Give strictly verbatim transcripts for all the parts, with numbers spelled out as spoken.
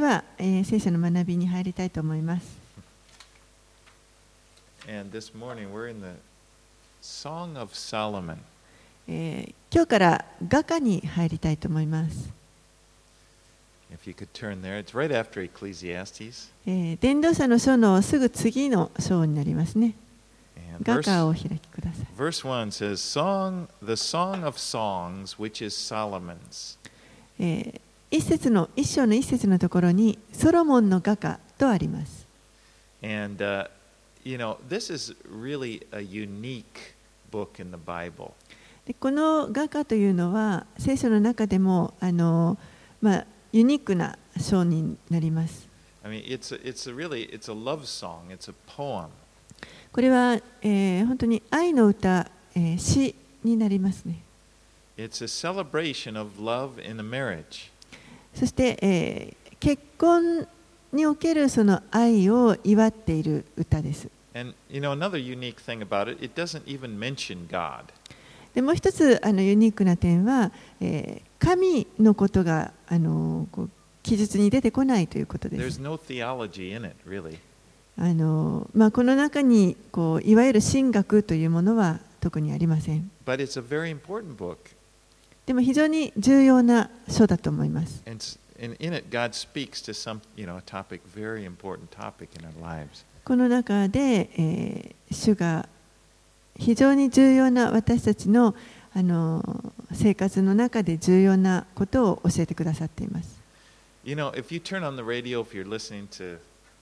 は、えー、聖書の学びに入りたいと思います。 And this morning we're in the Song of Solomon. えー、今日から雅歌に入りたいと思います。 If you could turn there, it's right after Ecclesiastes. えー、伝道者の書のすぐ次の章になりますね。雅歌をお開きください。 Verse one says, Song, the Song of Songs, which is Solomon's. えー、一節の一章の一節のところにソロモンの雅歌とあります。 And, uh, you know, this is really a unique book in the Bible. でこの雅歌というのは聖書の中でもあの、まあ、ユニークな章になります。 I mean, it's a, it's a really, it's a love song, it's a poem. これは、えー、本当に愛の歌、えー、詩になりますね。 It's a celebration of love in a marriage. そして、えー、結婚におけるその愛を祝っている歌です。 And you know, another unique thing about it, it doesn't even mention God. でもう一つあのユニークな点は、えー、神のことがあのこう記述に出てこないということです。 There's no theology in it, really. あのまあ、この中にこういわゆる神学というものは特にありません。 But it's a very important book. でも非常に重要な書だと思います。 And in, in it, God speaks to some, you know, a topic, very important topic in our lives. この中で、えー、主が非常に重要な私たちの、あの生活の中で重要なことを教えてくださっています。 You know, if you turn on the radio, if you're listening to,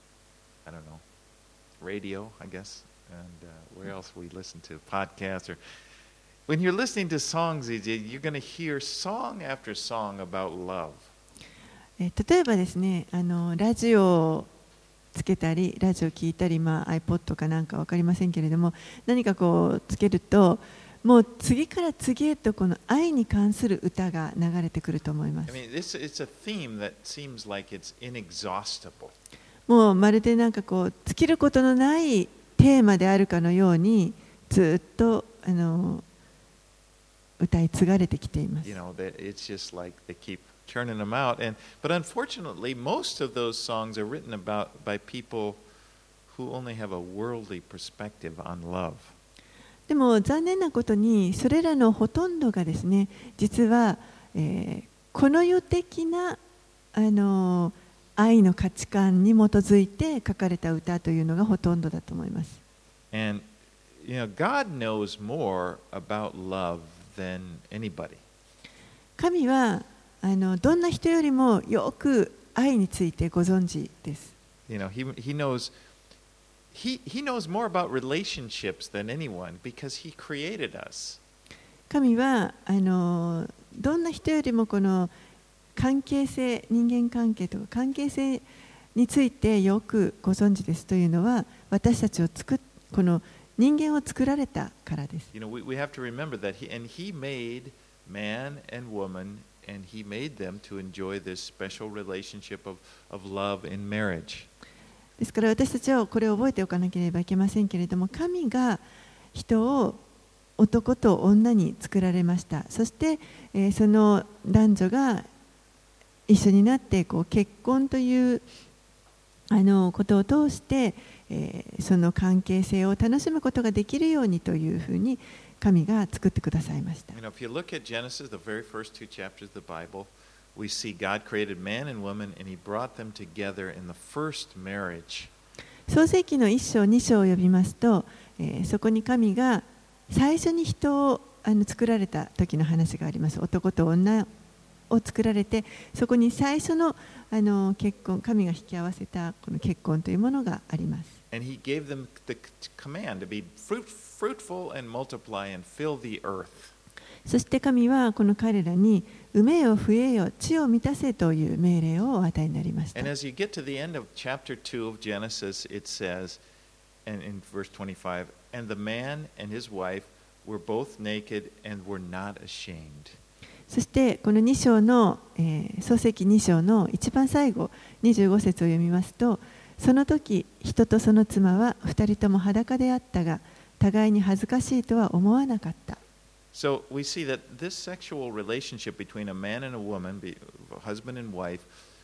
I don't know, radio, I guess, and uh, where else we listen to, podcasts, or when you're listening to songs, you're going to hear song after song about love. えー、例えばですね、あのラジオをつけたり、ラジオ聞いたり、まあ、iPod かなんか分かりませんけれども、何かこうつけると、もう次から次へとこの愛に関する歌が流れてくると思います。 I mean, this, it's a theme that seems like it's inexhaustible. もうまるでなんかこう尽きることのないテーマであるかのように、ずっとあの歌い継がれてきています。 You know, that it's just like they keep turning them out. And but unfortunately, most of those songs are written about by people who only have a worldly perspective on love. でも残念なことにそれらのほとんどがですね、実は、えー、この世的なあの愛の価値観に基づいて書かれた歌というのがほとんどだと思います。 And you know, God knows more about love than anybody. 神はあのどんな人よりもよく愛についてご存知です。 You know, he he knows he he knows more about relationships than anyone because he created us. 神はあのどんな人よりもこの関係性、人間関係とか関係性についてよくご存知ですというのは、私たちを作っこの人間を作られたからです。 You know, we we have to remember that he and he made man and woman, and he made them to enjoy this special relationship of of love in marriage. ですから私たちはこれを覚えておかなければいけませんけれども、神が人を男と女に作られました。そして、えー、その男女が一緒になってこう結婚というあのことを通して、えー、その関係性を楽しむことができるようにというふうに神が作ってくださいました。 You know, if you look at Genesis, the very first two chapters of the Bible, we see God created man and woman, and He brought them together in the first marriage. 創世記の一章二章を読みますと、えー、そこに神が最初に人をあの作られた時の話があります。男と女を作られて、そこに最初のあの結婚、神が引き合わせたこの結婚というものがあります。 And He gave them the command to be fruit, fruitful and multiply and fill the earth. そして神はこの彼らに産めよ増えよ地を満たせという命令をお与えになりました。 And as you get to the end of chapter two of Genesis, it says, and in verse twenty-five, and the man and his wife were both naked and were not ashamed. そしてこのに章の、えー、創世記に章の一番最後にじゅうご節を読みますと、その時人とその妻は二人とも裸であったが、互いに恥ずかしいとは思わなかった。 So we see that this sexual relationship between a man and a woman, a husband and wife,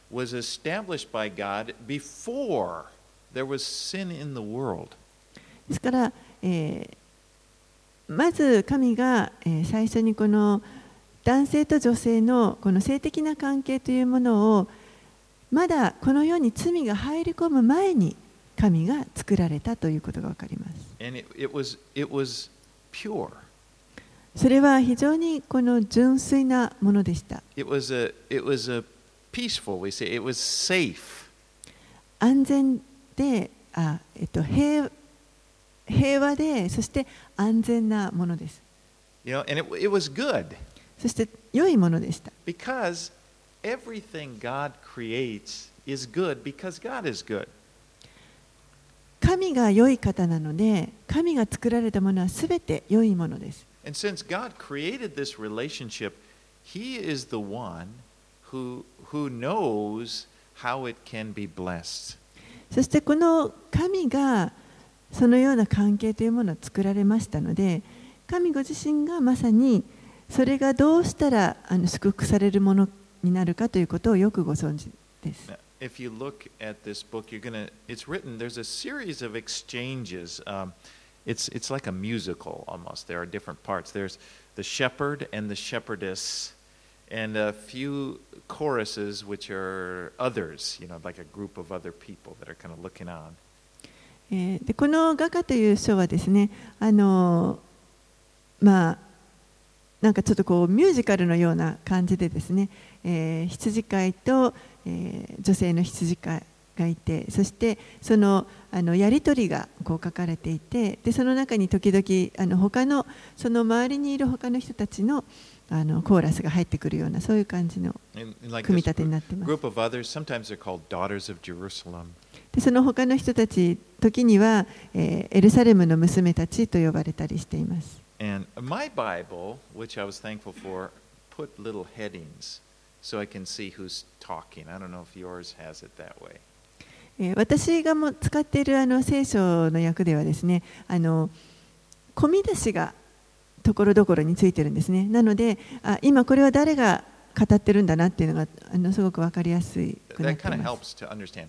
was established by God before there was sin in the world. ですから、えー、まず神が、えー、最初にこの男性と女性のこの性的な関係というものをまだこの世に罪が入り込む前に神が作られたということがわかります。 And it, it was, it was pure. それは非常にこの純粋なものでした。 It was a, it was a peaceful, we say, it was safe. 安全で、あ、えっと、平、平和で、そして安全なものです。 You know, and it, it was good. そして良いものでした。 Because everything God creates is good because God is good. 神が良い方なので、神が作られたものはすべて良いものです。 And since God created this relationship, He is the one who, who knows how it can be blessed. そしてこの神がそのような関係というものを作られましたので、神ご自身がまさにそれがどうしたらあの祝福されるものになるかということをよくご存知です。 If you look at this book, you're gonna, it's written, there's a series of exchanges. Um, it's, it's like a musical almost. There are different parts. There's the shepherd and the shepherdess, and a few choruses which are others, you know, like a group of other people that are kind of looking on. えー、でこの画家という書はですね、あのまあなんかちょっとこうミュージカルのような感じでですね、えー、羊飼いと、えー、女性の羊飼いがいて、そしてそのあのやり取りがこう書かれていて、でその中に時々あの他のその周りにいる他の人たちのあのコーラスが入ってくるようなそういう感じの組み立てになっています。 Group of others, sometimes they're called daughters of Jerusalem. でその他の人たち時には、えー、エルサレムの娘たちと呼ばれたりしています。 And my Bible, which I was thankful for, put little headings so I can see who's talking. I don't know if yours has it that way. えー、私がも使っているあの聖書の訳ではですね、あの込み出しがところどころについてるんですね。なので、あ今これは誰が語ってるんだなっていうのがあのすごくわかりやすくなっています。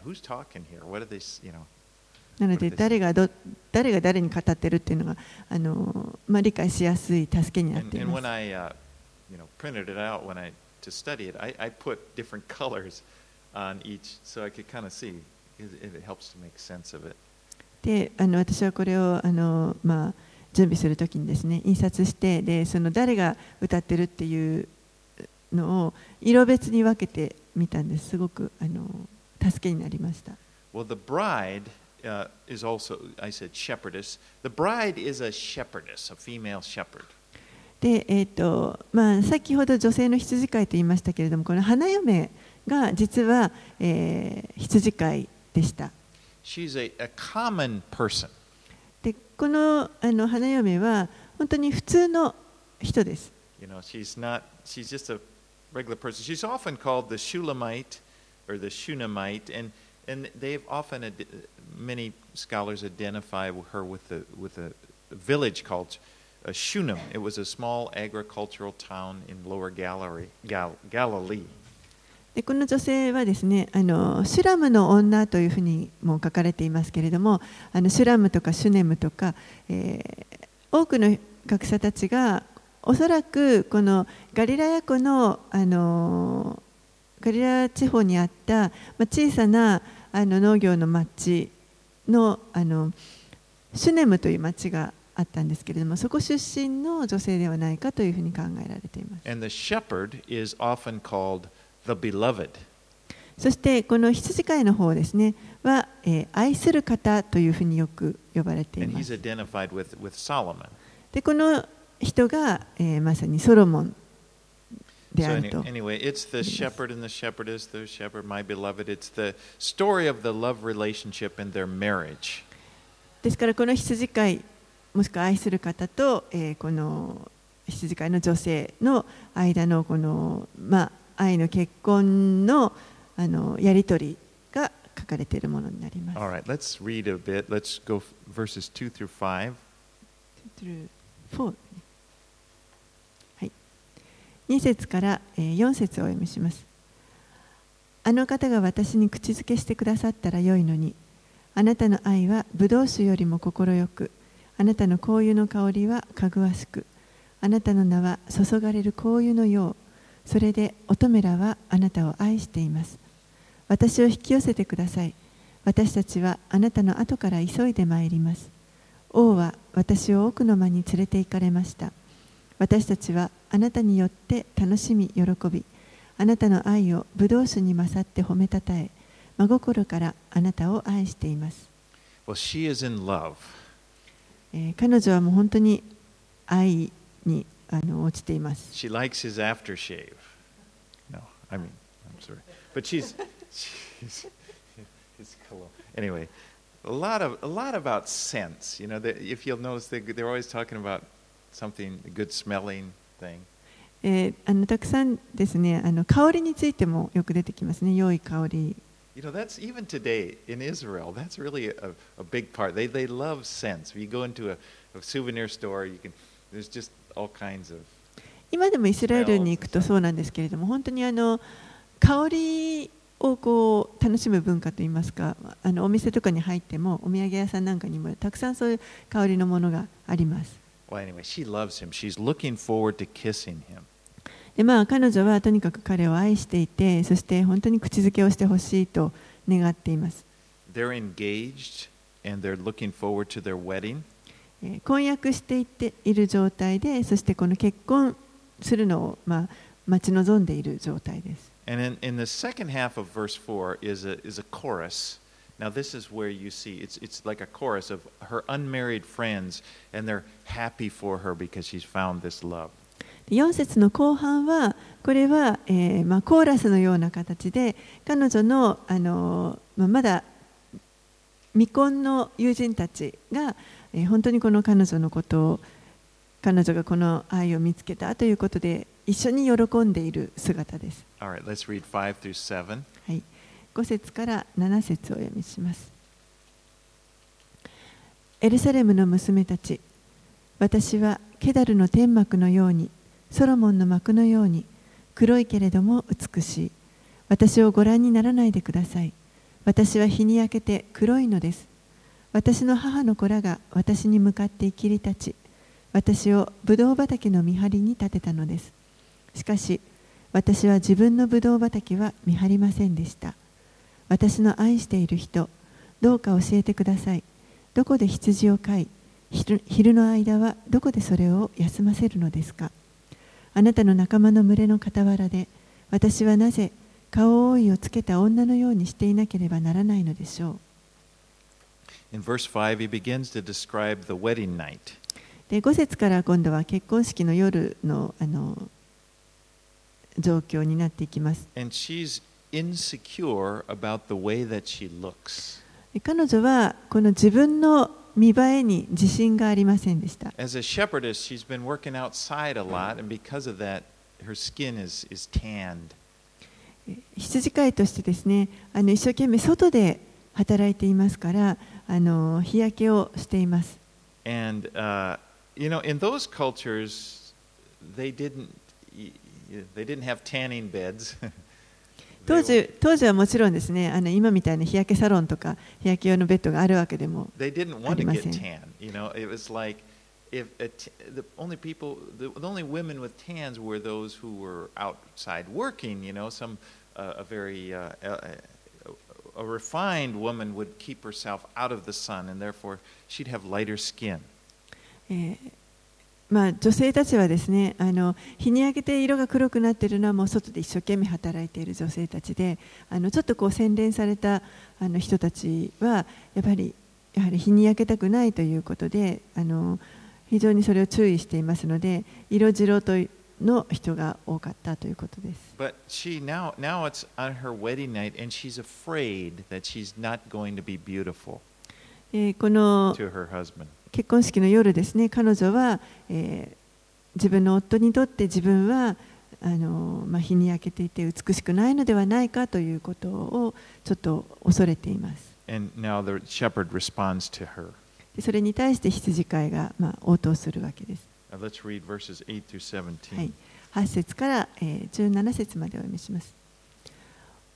なので誰がど誰が誰に語ってるっていうのがあの、まあ、理解しやすい助けになっています。で、あの私はこれをあの、まあ、準備するときにですね、印刷してでその誰が歌ってるっていうのを色別に分けてみたんです。すごくあの助けになりました。 Well, the bride Uh, is also, I said shepherdess. The bride is a shepherdess, a female shepherd. で、えーとまあ、先ほど女性の羊飼いと言いましたけれども、この花嫁が実は、えー、羊飼いでした。 She's a, a common person. で、この、あの花嫁は本当に普通の人です。 You know, she's not, she's just a regular person. She's often called the Shulamite or the Shunammite, and And they've often, many scholars identify her with the with a village called Shunem. It was a small agricultural town in Lower Galilee. Gal Galilee. でこの女性はですね、あのシュラムの女というふうにも書かれていますけれども、あのシュラムとかシュネムとか、えー、多くの学者たちがおそらくこのガリラヤ湖のあのガリラ地方にあった、まあ、小さなあの農業の町のあのシュネムという町があったんですけれども、そこ出身の女性ではないかというふうに考えられています。 And the shepherd is often called the beloved. そしてこの羊飼いの方ですねは、えー、愛する方というふうによく呼ばれています。 And he's identified with, with Solomon. でこの人が、えー、まさにソロモンであると。 So anyway, it's the shepherd and the shepherdess, the shepherd, my beloved. It's the story of the love relationship and their marriage. ですからこの羊飼いもしくは愛する方と、えー、この羊飼いの女性の間のこのまあ愛の結婚のあのやり取りが書かれているものになります。 All right, let's read a bit. Let's go verses two through five. two through four. に節からよん節をお読みします。 あの方が私に口づけしてくださったらよいのに。あなたの愛はブドウ酒よりも心よく、あなたの香油の香りはかぐわしく、あなたの名は注がれる香油のよう。それで乙女らはあなたを愛しています。私を引き寄せてください。私たちはあなたの後から急いで参ります。王は私を奥の間に連れて行かれました。私たちはあなたによって楽しみ喜び、あなたの愛をブドウ酒に勝って褒めたたえ、真心からあなたを愛しています。 Well, she is in love. えー彼女はもう本当に愛にあの落ちています。 She likes his aftershave. No, I mean, I'm sorry. But she's, she's his cologne. Anyway, a lot of a lot about scents. You know, that if you'll notice, they they're always talking about something a good smelling thing. えーあのたくさんですね、あの香りについてもよく出てきますね。良い香り。 You know, that's even today in Israel. That's really a, a big part. They they love scents. If you go into a, a souvenir store, you can. There's just all kinds of. 今でもイスラエルに行くとそうなんですけれども、本当にあの香りをこう楽しむ文化といいますか、あのお店とかに入ってもお土産屋さんなんかにもたくさんそういう香りのものがあります。 Well, anyway, she loves him. She's looking forward to kissing him. でまあ、彼女はとにかく彼を愛していて、そして本当に口づけをしてほしいと願っています。 They're engaged and they're looking forward to their wedding. えー婚約していっている状態で、そしてこの結婚するのを、まあ、待ち望んでいる状態です。 And in, in the second half of verse four is a, is a chorus. Now, this is where you see it's, it's like a chorus of her unmarried friends, and they're happy for her because she's found this love. よん節の後半は、これは、えーまあ、コーラスのような形で、彼女の、あのまあ、まだ未婚の友人たちが、えー、本当にこの彼女のことを、彼女がこの愛を見つけたということで、一緒に喜んでいる姿です。 All right, let's read five through seven. はい、ご節からなな節をお読みします。エルサレムの娘たち、私はケダルの天幕のように、ソロモンの幕のように黒いけれども美しい。私をご覧にならないでください。私は日に焼けて黒いのです。私の母の子らが私に向かって生きり立ち、私をブドウ畑の見張りに立てたのです。しかし、私は自分のブドウ畑は見張りませんでした。私の愛している人、どうか教えてください。どこで羊を飼い、昼の間はどこでそれを休ませるのですか。あなたの仲間の群れの傍らで、私はなぜ顔覆いをつけた女のようにしていなければならないのでしょう。 In verse five, he begins to describe the wedding night. でご節から今度は結婚式の夜の、あの状況になっていきます。 And she's insecure about the way that she looks. 彼女はこの自分の見栄えに自信がありませんでした。 As a shepherdess, she's been working outside a lot, and because of that, her skin is, is tanned. 羊飼いとしてですね、あの一生懸命外で働いていますから、あの日焼けをしています。 And, uh, you know, in those cultures, they didn't, they didn't have tanning beds. 当時、当時はもちろんですね、あの今みたいな日焼けサロンとか日焼け用のベッドがあるわけでもありません。 They didn't want to get tan. You know, it was like if a t- the only people, the, the only women with tans were those who were outside working. You know, some uh, a very uh, a, a refined woman would keep herself out of the sun, and therefore she'd have lighter skin. えーまあ、女性たちはですね、あの日に焼けて色が黒くなっているのはもう外で一生懸命働いている女性たちで、あのちょっとこう洗練されたあの人たちはやっぱりやはり日に焼けたくないということで、あの非常にそれを注意していますので、色白との人が多かったということです。 But she now now it's on her wedding night, and she's afraid that she's not going to be beautiful えーこの to her husband. 結婚式の夜ですね、彼女は、えー自分の夫にとって自分はあの、まあ、日に焼けていて美しくないのではないかということをちょっと恐れています。 And now the shepherd responds to her. でそれに対して羊飼いが、まあ、応答するわけです。 Now let's read verses eight through seventeen. はい、はち節から、えー、じゅうなな節までお読みします。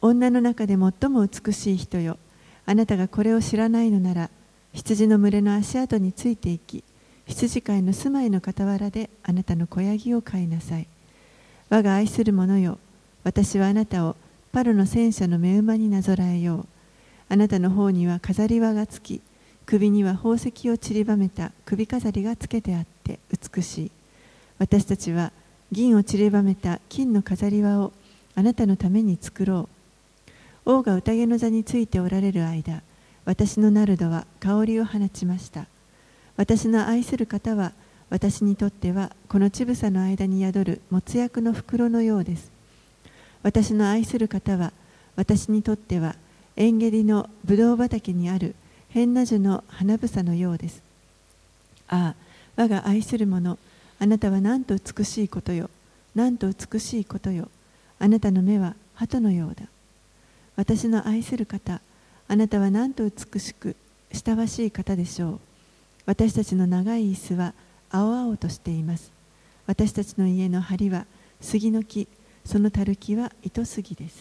女の中で最も美しい人よ、あなたがこれを知らないのなら、羊の群れの足跡についていき、羊飼いの住まいの傍らであなたの子ヤギを飼いなさい。我が愛する者よ、私はあなたをパロの戦車の目馬になぞらえよう。あなたの方には飾り輪がつき、首には宝石を散りばめた首飾りがつけてあって美しい。私たちは銀を散りばめた金の飾り輪をあなたのために作ろう。王が宴の座についておられる間、私のナルドは香りを放ちました。私の愛する方は、私にとってはこの乳房の間に宿る没薬の袋のようです。私の愛する方は、私にとってはエンゲリのブドウ畑にあるヘンナ樹の花房のようです。ああ、我が愛する者、あなたはなんと美しいことよ。なんと美しいことよ。あなたの目は鳩のようだ。私の愛する方、あなたはなんと美しく親わしい方でしょう。私たちの長い椅子は青々としています。私たちの家の梁は杉の木、そのたる木は糸杉です。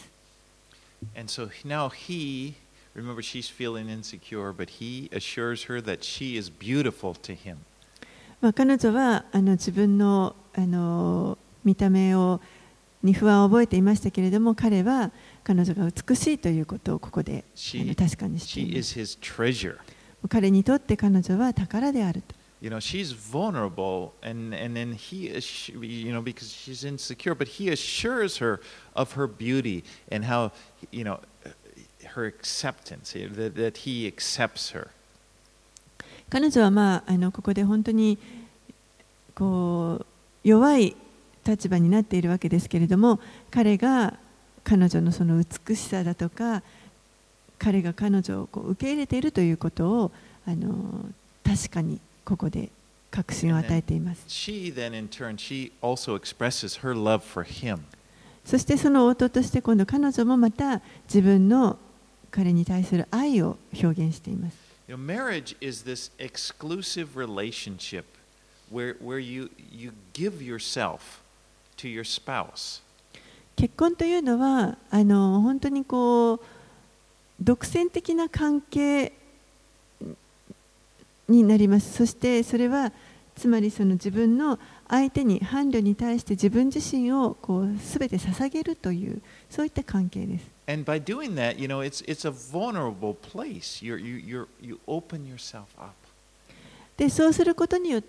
And so now he, remember she's feeling insecure, but he assures her that she is beautiful to him. まあ彼女はあの自分の、あの見た目をに不安を覚えていましたけれども、彼は彼女が美しいということをここであの確かにしています。 She is his treasure. 彼にとって彼女は宝であると。 You know, she's vulnerable, and, and then he, you know, because she's insecure, but he assures her of her beauty and how, you know, her acceptance, that, that he accepts her. 彼女は、まあ、あのここで本当にこう弱い立場になっているわけですけれども、彼が彼女のその美しさだとか、彼が彼女をこう受け入れているということをあの確かにここで確信を与えています。 She then in turn, she also expresses her love for him. そしてその応答として今度彼女もまた自分の彼に対する愛を表現しています。 You know, marriage is this exclusive relationship where, where you, you give yourself to your spouse. 結婚というのはあの本当にこう独占的な関係になります。そしてそれはつまりその自分の相手に伴侶に対して自分自身をこう全て捧げるというそういった関係です。 And by doing that, you know, it's, it's a vulnerable place. You're, you, you're, you open yourself up. でそうすることによって、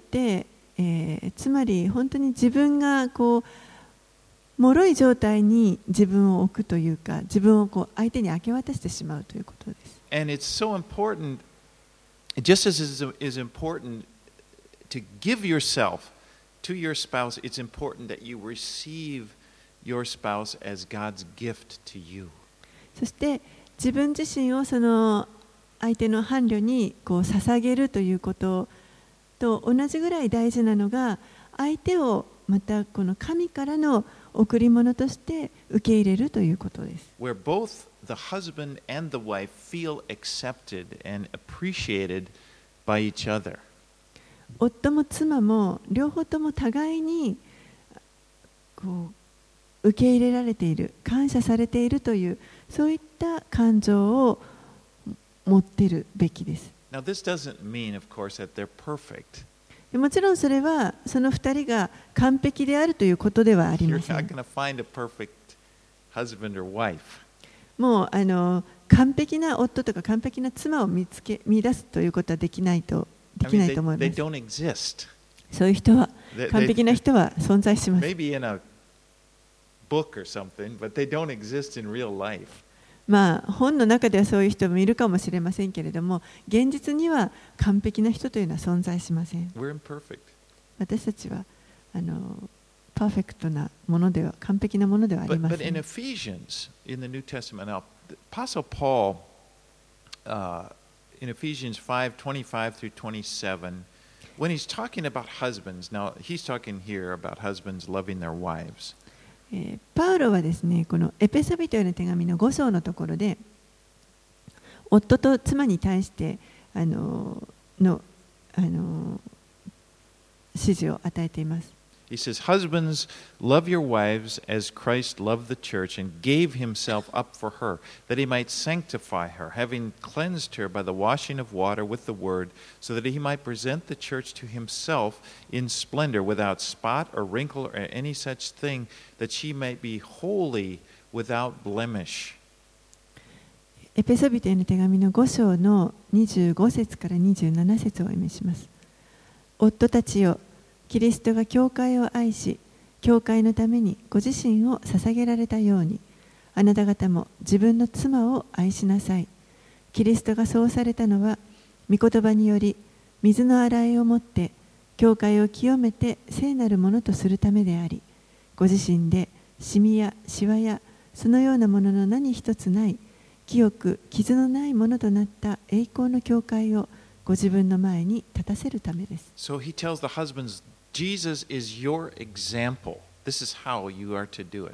えー、つまり本当に自分がこう脆い状態に自分を置くというか、自分をこう相手に明け渡してしまうということです。 And it's so important, just as it is important to give yourself to your spouse, it's important that you receive your spouse as God's gift to you. そして自分自身をその相手の伴侶にこう捧げるということと同じぐらい大事なのが、相手をまたこの神からの贈り物として受け入れるということです。 Where both the husband and the wife feel accepted and appreciated by each other. 夫も妻も両方とも互いにこう受け入れられている、感謝されているというそういった感情を持っているべきです。 Now, this doesn't mean, of course, that they're perfect. もちろんそれはその二人が完璧であるということではありま You're せ not ん。 going to find a perfect husband or wife. もうあの完璧な夫とか完璧な妻を見つけ見出すということはできないとで I きな mean, いと思 they, い they ます。 don't exist. そういう人は They, 完璧な they, 人は存在します。 maybe in a book or something, but they don't exist in real life. まあ本の中ではそういう人もいるかもしれませんけれども、現実には完璧な人というのは存在しません。 We're imperfect. 私たちはあのパーフェクトなものでは完璧なものではあり But, ま but せ in ん。 Ephesians, in the New Testament, now, Apostle Paul, uh, in Ephesians five twenty-five through twenty-seven, when he's talking about husbands, now he's talking here about husbands loving their wives. えーパウロはですね、このエペソビトへの手紙のご章のところで、夫と妻に対してあののあの指示を与えています。 He says, Husbands, love your wives as Christ loved the church and gave himself up for her, that he might sanctify her, having cleansed her by the washing of water with the word, so that he might present the church to himself in splendor, without spot or wrinkle or any such thing, that she might be holy without blemish. エペソビトへの手紙のご章のにじゅうご節からにじゅうなな節をお読みします。夫たちよ、キリストが教会を愛し、教会のためにご自身を捧げられたように、あなた方も自分の妻を愛しなさい。キリストがそうされたのは、御言葉により、水の洗いをもって、教会を清めて聖なるものとするためであり、ご自身でシミやシワやそのようなものの何一つない、清く傷のないものとなった栄光の教会をご自分の前に立たせるためです。 So he tells the husbands, Jesus is your example. This is how you are to do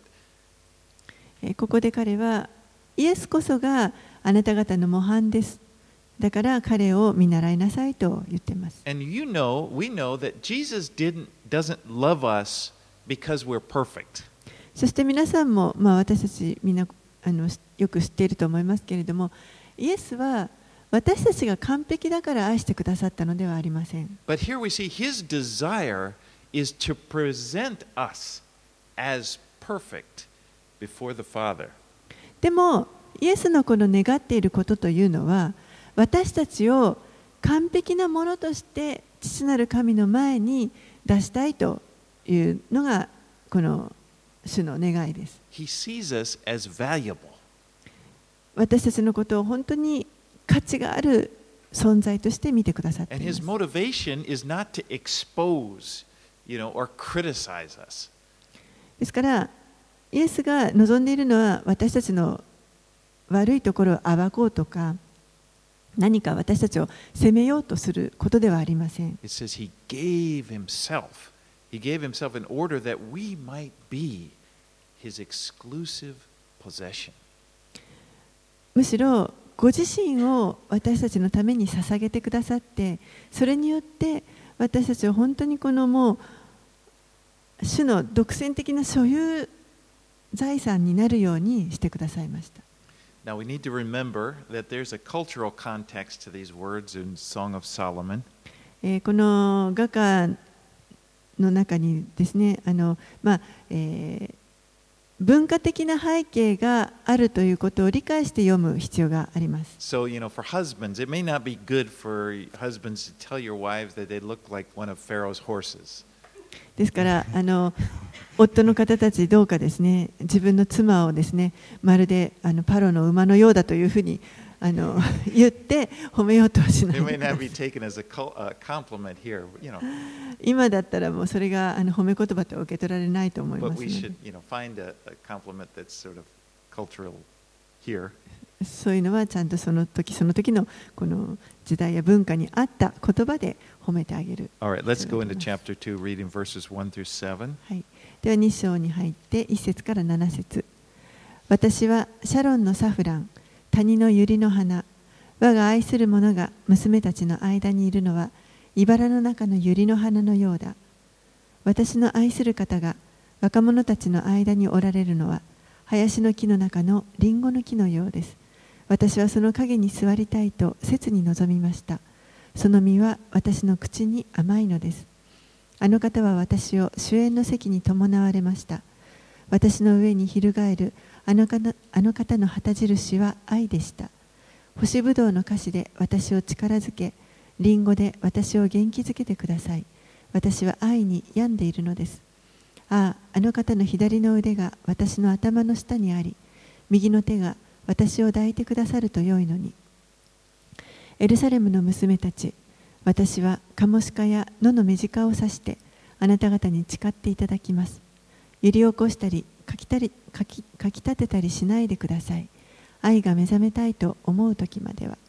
it. ここで彼は、イエスこそがあなた方の模範です。だから彼を見習いなさいと言っています。 And you know, we know that Jesus didn't, doesn't love us because we're perfect. そして皆さんも、まあ、私たちみんなあのよく知っていると思いますけれども、イエスは私たちが完璧だから愛してくださったのではありません。 But here we see his desire is to present us as perfect before the Father. でも、イエスのこの願っていることというのは、私たちを完璧なものとして父なる神の前に出したいというのがこの主の願いです。 He sees us as valuable. 私たちのことを本当に価値がある存在として見てくださっています。 And his motivation is not to expose, you know, or criticize us. ですから、イエスが望んでいるのは私たちの悪いところを暴こうとか、何か私たちを責めようとすることではありません。 It says he gave himself. He gave himself in order that we might be his exclusive possession. むしろご自身を私たちのために捧げてくださって、それによって私たちは本当にこのもう主の独占的な所有財産になるようにしてくださいました。 Now we need to remember that there's a cultural context to these words in Song of Solomon. えー、この画家の中にですね、あのまあえー、文化的な背景があるということを理解して読む必要があります。 So, you know, for husbands, it may not be good for husbands to tell your wives that they look like one of Pharaoh's horses. ですからあの夫の方たちどうかですね、自分の妻をですね、まるであのパロの馬のようだというふうにあの言って褒めようとはしない。 It may not be taken as a compliment here, you know. 今だったらもうそれがあの褒め言葉と受け取られないと思いますので。 But we should, you know, find a, a compliment that's sort of cultural here. そういうのはちゃんとその時その時のこの時代や文化に合った言葉で褒めてあげる。 All right, let's go into chapter two, reading verses one through seven. はい。ではに章に入っていち節からなな節。私はシャロンのサフラン、谷の百合の花、我が愛する者が娘たちの間にいるのは茨の中の百合の花のようだ。私の愛する方が若者たちの間におられるのは林の木の中のリンゴの木のようです。私はその陰に座りたいと切に望みました。その実は私の口に甘いのです。あの方は私を主演の席に伴われました。私の上に翻るあの方あの方の旗印は愛でした。干しぶどうの菓子で私を力づけ、リンゴで私を元気づけてください。私は愛に病んでいるのです。ああ、あの方の左の腕が私の頭の下にあり、右の手が私を抱いてくださると良いのに。エルサレムの娘たち、私はカモシカや野のメジカを刺してあなた方に誓っていただきます。揺り起こしたりかきたりかきかき立てたりしないでください。愛が目覚めたいと思う時までは。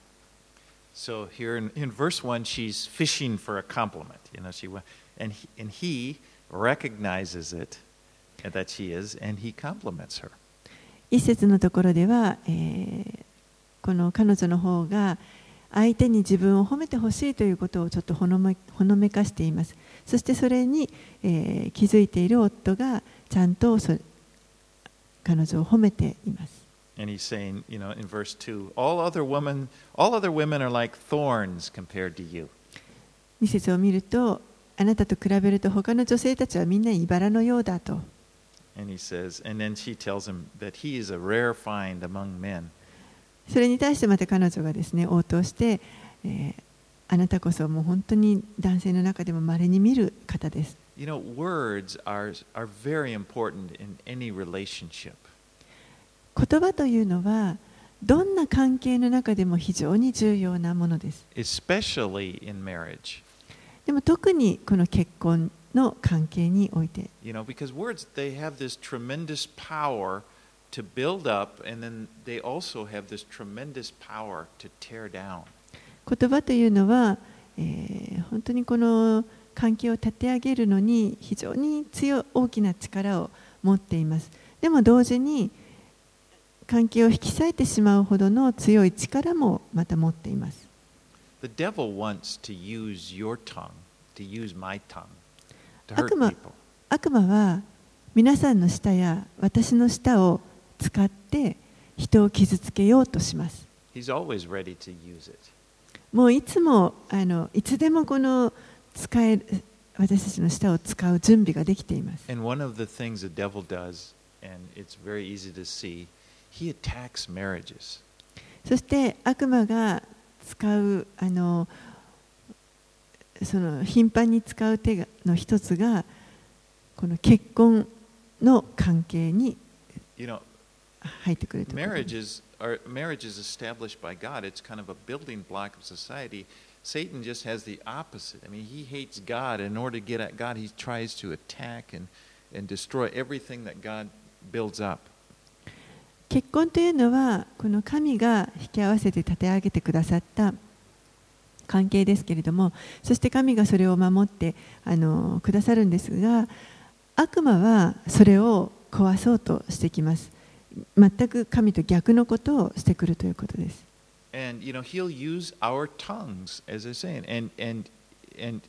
So here in, in verse one, she's fishing for a compliment. You know, she and he, and he recognizes it that she is, and he compliments her. 一節のところでは、えー、この彼女の方が相手に自分を褒めてほしいということをちょっとほのめ、ほのめかしています。そしてそれに、えー、気づいている夫がちゃんとそ彼女を褒めています。 And he's saying, you know, in verse two, all other women, all other women are like thorns compared to you. に節を見ると、あなたと比べると他の女性たちはみんな茨のようだと。 And he says, and then she tells him that he is a rare find among men. それに対してまた彼女がですね、応答して、えー、あなたこそもう本当に男性の中でも稀に見る方です。 You know, words are, are very important in any relationship. 言葉というのはどんな関係の中でも非常に重要なものです。 Especially in marriage. でも特にこの結婚の関係において。 You know, because words, they have this tremendous power to build up, and then they also have this tremendous power to tear down. 言葉というのは、えー、本当にこの関係を立て上げるのに非常に強い大きな力を持っています。でも同時に関係を引き裂いてしまうほどの強い力もまた持っています。 The devil wants to use your tongue, to use my tongue, to hurt 悪魔、 people. 悪魔は皆さんの舌や私の舌を使って人を傷つけようとします。 He's always ready to use it. もういつもあのいつでもこの使える私たちの舌を使う準備ができています。 And one of the things the devil does, and it's very easy to see, he attacks marriages. そして悪魔が使うあのその頻繁に使う手の一つがこの結婚の関係に You know, 入ってくるところ。 marriages are marriage is established by God. It's kind of a building block of society. Satan just has the opposite. I mean, he hates God. In order to get at God, he tries to attack and, and destroy everything that God builds up. 結婚というのはこの神が引き合わせて立て上げてくださった関係ですけれども、そして神がそれを守ってあのくださるんですが、悪魔はそれを壊そうとしてきます。全く神と逆のことをしてくるということです。 And you know, he'll use our tongues, as I say, and and and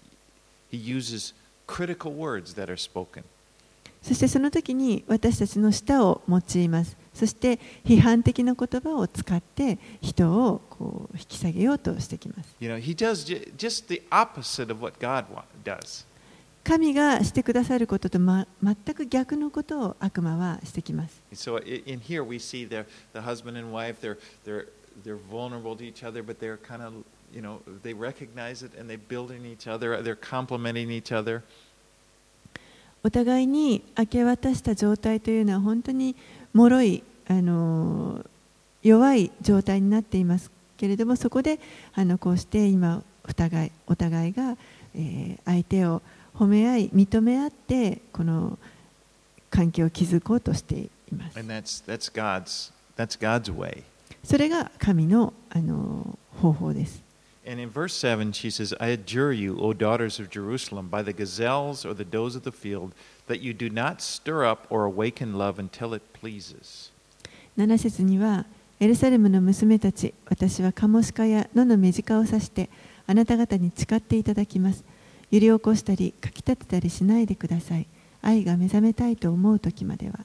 he uses critical words that are spoken. そしてその時に私たちの舌を用います。そして批判的な言葉を使って人をこう引き下げようとしてきます。 You know, he does just the opposite of what God does. 神がしてくださることと、ま、全く逆のことを悪魔はしてきます。 So in here we see the the husband and wife, they're they're they're vulnerable to each other, but they're kind of, you know, they recognize it and they build in each other, they're complementing each other. お互いに明け渡した状態というのは本当に脆い、あの弱い状態になっていますけれども、そこであのこうして今お互いお互いが、えー、相手を褒め合い認め合ってこの関係を築こうとしています。 And that's that's God's that's God's way. それが神のあの方法です。 And in verse seven, she says, I adjure you, O daughters of Jerusalem, by the gazelles or the does of the field, that you do not stir up or awaken love until it pleases. なな節には、エルサレムの娘たち、私はカモシカや野の目近を指して、あなた方に誓っていただきます。揺り起こしたり、かき立てたりしないでください。愛が目覚めたいと思うときまでは。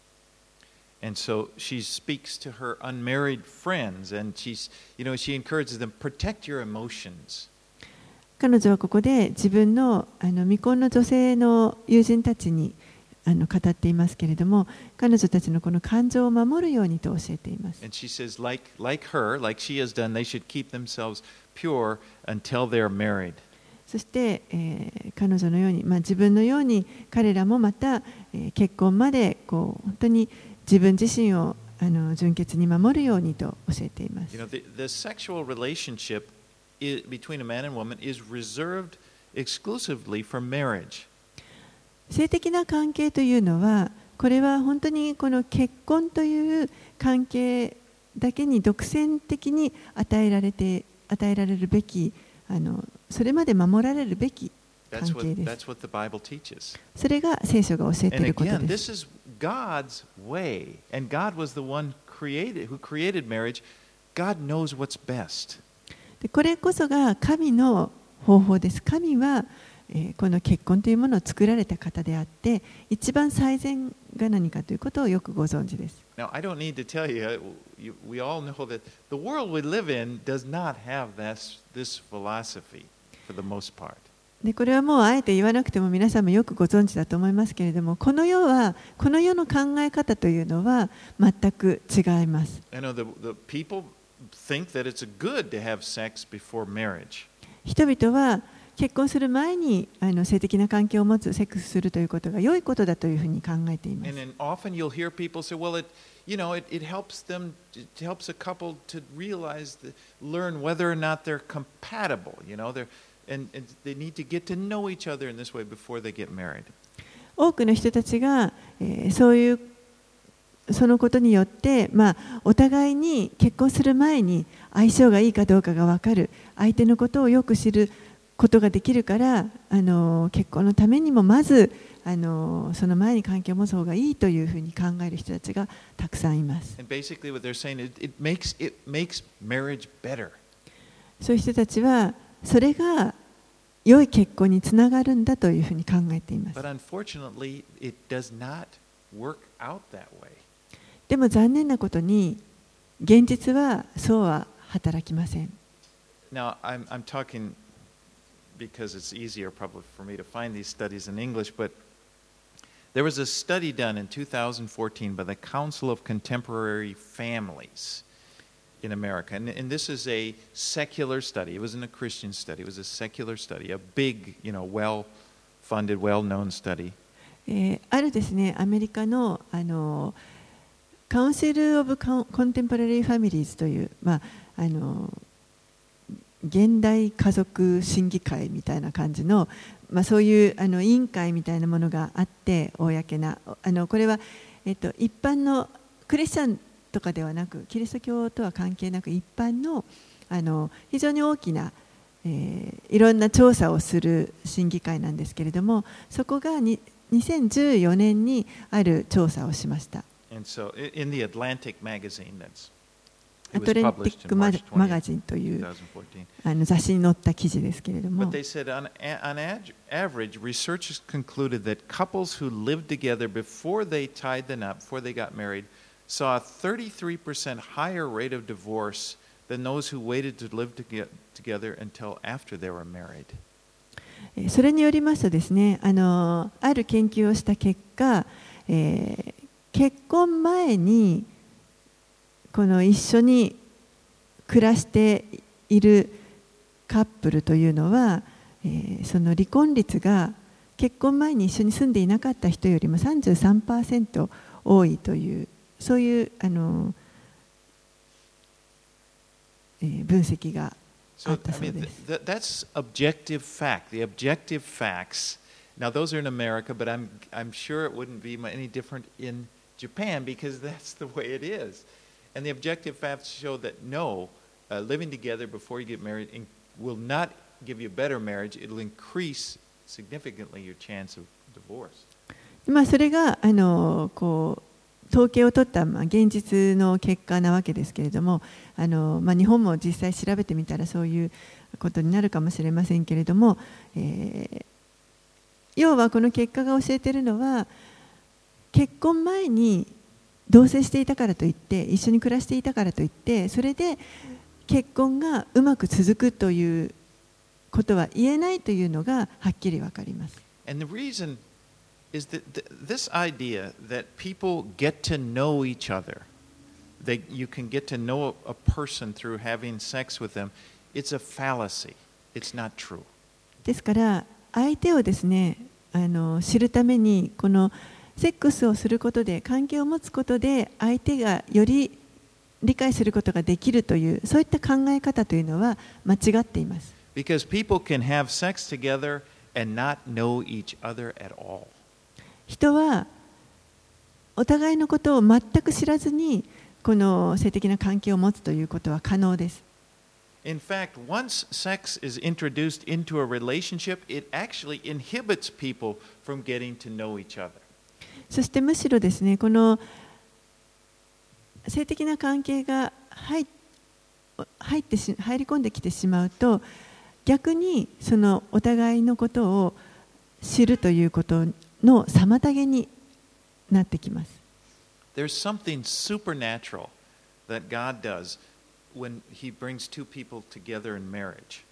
And so she speaks to her unmarried friends, and she's, you know, she encourages them, protect your emotions. 彼女はここで自分のあの未婚の女性の友人たちにあの語っていますけれども、彼女たちのこの感情を守るようにと教えています。 And she says, like, like her, like she has done, they should keep themselves pure until they're married. そして、えー、彼女のように、まあ、自分のように彼らもまた、えー、結婚までこう本当に自分自身をあの純潔に守るようにと教えています。 You know, the, the sexual relationship is, between a man and woman is reserved exclusively for marriage. 性的な関係というのは、これは本当にこの結婚という関係だけに独占的に与えられて与えられるべき、あのそれまで守られるべき関係です。それが聖書が教えていることです。 God's way, and God was the one created, who created marriage. God knows what's best. でこれこそが神の方法です。神は、えー、この結婚というものを作られた方であって、一番最善が何かということをよくご存知です。 Now, I don't need to tell you, you we all know that the world we live in does not have this, this philosophy for the most part. でこれはもうあえて言わなくても皆さんもよくご存知だと思いますけれども、この世はこの世の考え方というのは全く違います。 I know the, the people think that it's good to have sex before marriage. 人々は結婚する前にあの性的な関係を持つ、セックスするということが良いことだというふうに考えています。 And then often you'll hear people say, well, it, you know, it, it helps them, it helps a couple to realize, the, learn whether or not they're compatible, you know, they're, and, and they need to get to know each other in this way before they get married. 多くの人たちが、えー、そういうそのことによって、まあ、お互いに結婚する前に相性がいいかどうかが分かる、相手のことをよく知ることができるから、あの結婚のためにもまずあのその前に関係を持つ方がいいというふうに考える人たちがたくさんいます。 And basically what they're saying is it makes, it makes marriage better. そういう人たちはそれが良い結婚につながるんだというふうに考えています。 But unfortunately, it does not work out that way. でも残念なことに現実はそうは働きません。 Now, I'm, I'm talking because it's easier probably for me to find these studies in English, but there was a study done in two thousand fourteen by the Council of Contemporary Families in America. And, and this is a secular study. It wasn't a Christian study. It was a secular study, a big, you know, well-funded, well-known study. えー、あるですね、アメリカのあのカウンシル・オブ・コンテンポラリー・ファミリーズという、まあ、あの現代家族審議会みたいな感じの、まあ、そういうあの委員会みたいなものがあって、公なあのこれは、えっと、一般のクリスチャンとかではなく、キリスト教とは関係なく一般の、あの非常に大きな、えー、いろんな調査をする審議会なんですけれども、そこがににせんじゅうよねんにある調査をしました。 And so in the Atlantic magazine, that's アトランティックマガジンというあの雑誌に載った記事ですけれども、 But they said on, on average, researchers concluded that couples who lived together before they tied the knot, before they got married, saw a thirty-three percent higher rate of divorce than those who waited to live to get together until after they were married. それによりますとですね、あのある研究をした結果、えー、結婚前にこの一緒に暮らしているカップルというのは、えー、その離婚率が結婚前に一緒に住んでいなかった人よりも さんじゅうさんパーセント 多いという、そういうあの、えー、分析があったそうです。 So, I mean, that's objective fact. The objective facts. Now, those are in America, but I'm I'm sure it wouldn't be any different in Japan because that's the way it is. And the objective facts show that no, uh, living together before you get married in, will not give you a better marriage. It'll increase significantly your chance of divorce. まあそれがあのこう統計を取ったまあ現実の結果なわけですけれども、あのまあ日本も実際調べてみたらそういうことになるかもしれませんけれども、えー、要はこの結果が教えているのは、結婚前に同棲していたからといって、一緒に暮らしていたからといって、それで結婚がうまく続くということは言えないというのがはっきりわかります。 And the reason is that this idea that people get to know each other, that you can get to know a person through having sex with them, it's a fallacy. It's not true. ですから相手をですね、あの知るためにこのセックスをすることで、関係を持つことで相手がより理解することができるという、そういった考え方というのは間違っています。 Because people can have sex together and not know each other at all. 人はお互いのことを全く知らずにこの性的な関係を持つということは可能です。 In fact, once sex is introduced into a relationship, it actually inhibits people from getting to know each other. そしてむしろですね、この性的な関係が入入ってし入り込んできてしまうと、逆にそのお互いのことを知るということの妨げになってきます。 There's something supernatural that God does when He brings two people together in marriage.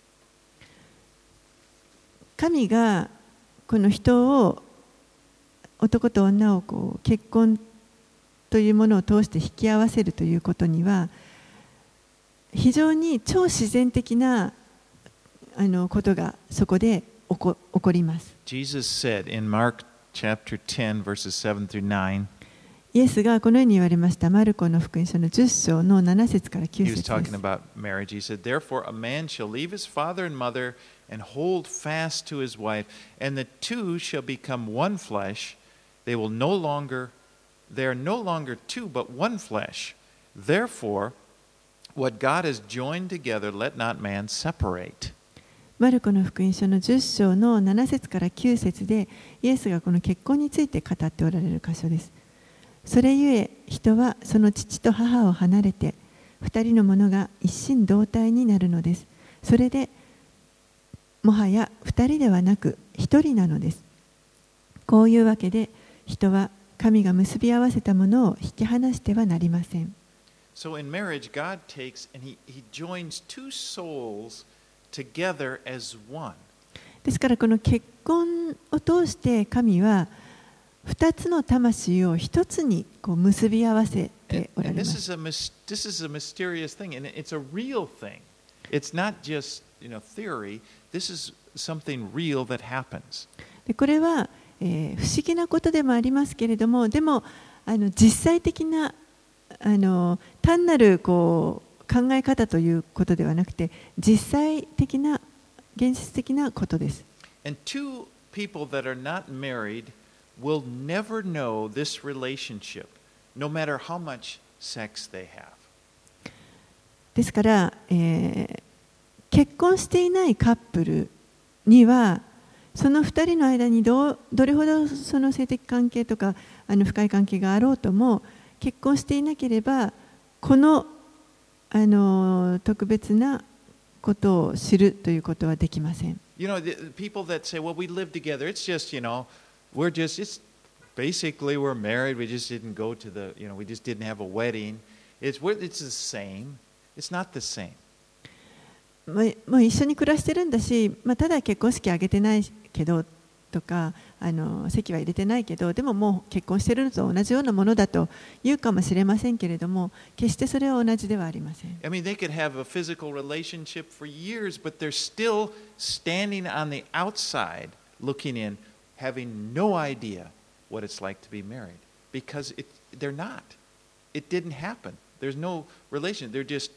神がこの人を、男と女をこう結婚というものを通して引き合わせるということには、非常に超自然的なあのことがそこで起こ、起こります。 Jesus said in Mark chapter ten, verses seven through nine, イエスがこのように言われました。マルコの福音書のじゅっ章のなな節からきゅう he 節 was です。 talking about marriage. He said, Therefore, a man shall leave his father and mother and hold fast to his wife, and the two shall become one flesh. They will no longer, they are no longer two, but one flesh. Therefore, what God has joined together, let not man separate. マルコの福音書のじゅっ章のなな節からきゅう節で、イエスがこの結婚について語っておられる箇所です。それゆえ、人はその父と母を離れて、二人のものが一心同体になるのです。それで、もはや二人ではなく一人なのです。こういうわけで、人は神が結び合わせたものを引き離してはなりません。 So in marriage, God takes and he, he joins two souls together as one. ですからこの結婚を通して神は二つの魂を一つにこう結び合わせておられます。 And, and this is a this is a mysterious thing, and it's a real thing. It's not just, you know, theory. This is something real that happens. でこれは、えー、不思議なことでもありますけれども、でもあの実際的なあの単なるこう考え方ということではなくて、実際的な現実的なことです。 And two people that are not married will never know this relationship, no matter how much sex they have. ですから、えー、結婚していないカップルには、その二人の間に ど, どれほどその性的関係とかあの深い関係があろうとも、結婚していなければこの、あの特別なことを知るということはできません。 You know, the people that say, "Well, we live together. It's just, you know, we're just, it's basically we're married. We just didn't go to the, you know, we just didn't have a wedding. It's it's the same. It's not the same." もう一緒に暮らしてるんだし、まあ、ただ結婚式挙げてないけどとか、あの籍は入れてないけど、でももう結婚してるのと同じようなものだと言うかもしれませんけれども、決してそれは同じではありません。 I mean, they could have a physical relationship for years, but they're still standing on the outside, looking in, having no idea what it's like to be married, because it, they're not. It didn't happen. There's no relation. They're just,